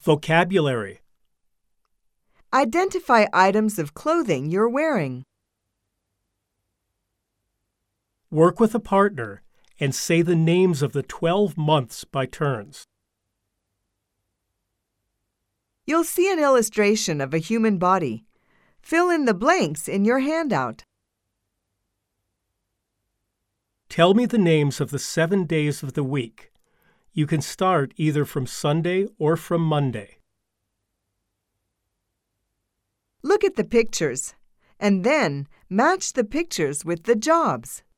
Vocabulary. Identify items of clothing you're wearing. Work with a partner and say the names of the 12 months by turns. You'll see an illustration of a human body. Fill in the blanks in your handout. Tell me the names of the 7 days of the week. You can start either from Sunday or from Monday. Look at the pictures, and then match the pictures with the jobs.